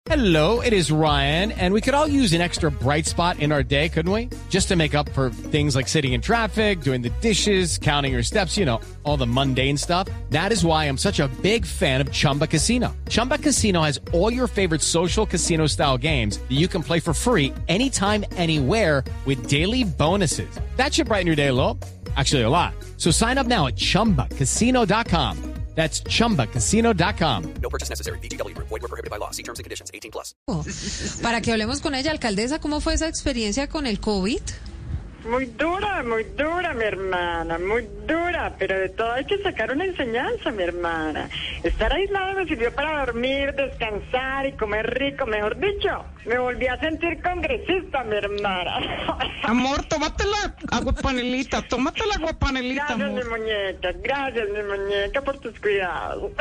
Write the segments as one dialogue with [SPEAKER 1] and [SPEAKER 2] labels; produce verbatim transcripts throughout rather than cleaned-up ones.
[SPEAKER 1] Hello, it is Ryan, and we could all use an extra bright spot in our day, couldn't we? Just to make up for things like sitting in traffic, doing the dishes, counting your steps, you know, all the mundane stuff. That is why I'm such a big fan of Chumba Casino. Chumba Casino has all your favorite social casino-style games that you can play for free anytime, anywhere with daily bonuses. That should brighten your day a little. Actually, a lot. So sign up now at chumba casino dot com. That's chumba casino dot com.
[SPEAKER 2] No purchase necessary. V G W Group. Void where prohibited by law. See terms and conditions. eighteen plus.
[SPEAKER 3] Para que hablemos con ella, alcaldesa, ¿cómo fue esa experiencia con el COVID?
[SPEAKER 4] Muy dura, muy dura, mi hermana, muy dura, pero de todo hay que sacar una enseñanza, mi hermana. Estar aislado me sirvió para dormir, descansar y comer rico, mejor dicho. Me volví a sentir congresista, mi hermana.
[SPEAKER 5] Amor, tómate la agua panelita, tómate la agua panelita,
[SPEAKER 4] Gracias,
[SPEAKER 5] amor.
[SPEAKER 4] mi muñeca, gracias, mi muñeca, por tus cuidados.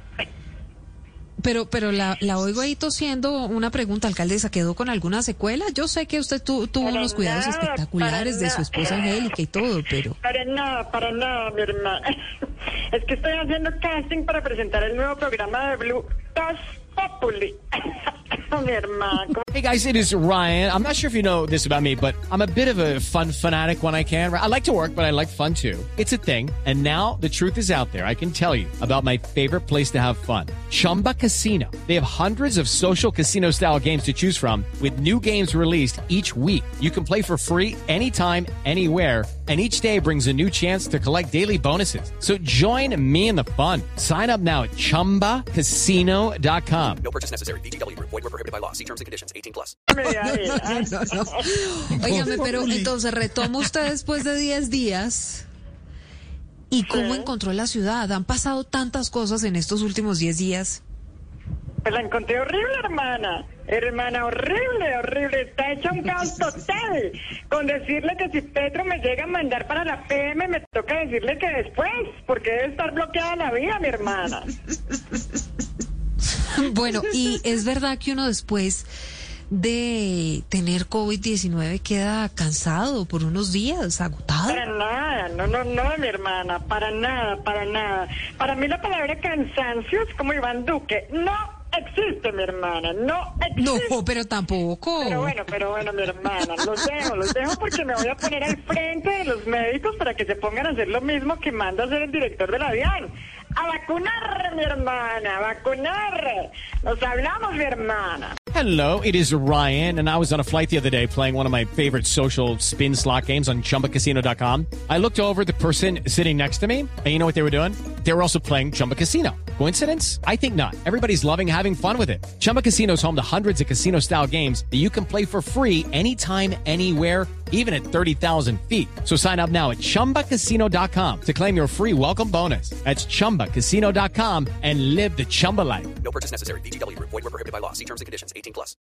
[SPEAKER 3] Pero, pero la, la oigo ahí tosiendo. Una pregunta, alcaldesa, ¿quedó con alguna secuela? Yo sé que usted tu, tuvo
[SPEAKER 4] Para
[SPEAKER 3] unos cuidados
[SPEAKER 4] nada,
[SPEAKER 3] espectaculares
[SPEAKER 4] para
[SPEAKER 3] de su esposa
[SPEAKER 4] nada.
[SPEAKER 3] Angélica y todo, pero...
[SPEAKER 4] Para nada, para nada, mi hermana. Es que estoy haciendo casting para presentar el nuevo programa de Blue, Tos Populi. Mi hermano.
[SPEAKER 1] Hey guys, it is Ryan. I'm not sure if you know this about me, but I'm a bit of a fun fanatic when I can. I like to work, but I like fun too. It's a thing. And now the truth is out there. I can tell you about my favorite place to have fun. Chumba Casino. They have hundreds of social casino style games to choose from with new games released each week. You can play for free anytime, anywhere. And each day brings a new chance to collect daily bonuses. So join me in the fun. Sign up now at chumba casino dot com.
[SPEAKER 2] No purchase necessary. V G W Group. Void where prohibited by law. See terms and conditions. eighteen plus.
[SPEAKER 3] No, no, no. Óigame, pero entonces retoma usted después de diez días. ¿Y cómo
[SPEAKER 4] Sí.
[SPEAKER 3] encontró la ciudad? Han pasado tantas cosas en estos últimos diez días.
[SPEAKER 4] Pues la encontré horrible, hermana. Hermana, horrible, horrible. Está hecha un caos total. Con decirle que si Petro me llega a mandar para la P M, me toca decirle que después, porque debe estar bloqueada la vía, mi hermana.
[SPEAKER 3] Bueno, y es verdad que uno después de tener COVID diecinueve queda cansado por unos días, agotado.
[SPEAKER 4] Para nada, no, no, no, mi hermana, para nada, para nada. Para mí la palabra cansancio es como Iván Duque. No existe, mi hermana, no existe.
[SPEAKER 3] No, pero tampoco.
[SPEAKER 4] Pero bueno, pero bueno, mi hermana, los dejo, los dejo porque me voy a poner al frente de los médicos para que se pongan a hacer lo mismo que manda hacer el director de la DIAN. A vacunar, mi hermana, a vacunar. Nos hablamos, mi hermana.
[SPEAKER 1] Hello, it is Ryan, and I was on a flight the other day playing one of my favorite social spin slot games on chumba casino dot com. I looked over at the person sitting next to me, and you know what they were doing? They were also playing Chumba Casino. Coincidence? I think not. Everybody's loving having fun with it. Chumba Casino is home to hundreds of casino-style games that you can play for free anytime, anywhere, even at thirty thousand feet. So sign up now at chumba casino dot com to claim your free welcome bonus. That's chumba casino dot com and live the Chumba life.
[SPEAKER 2] No purchase necessary. V G W Group. Void where prohibited by law. See terms and conditions. eighteen plus.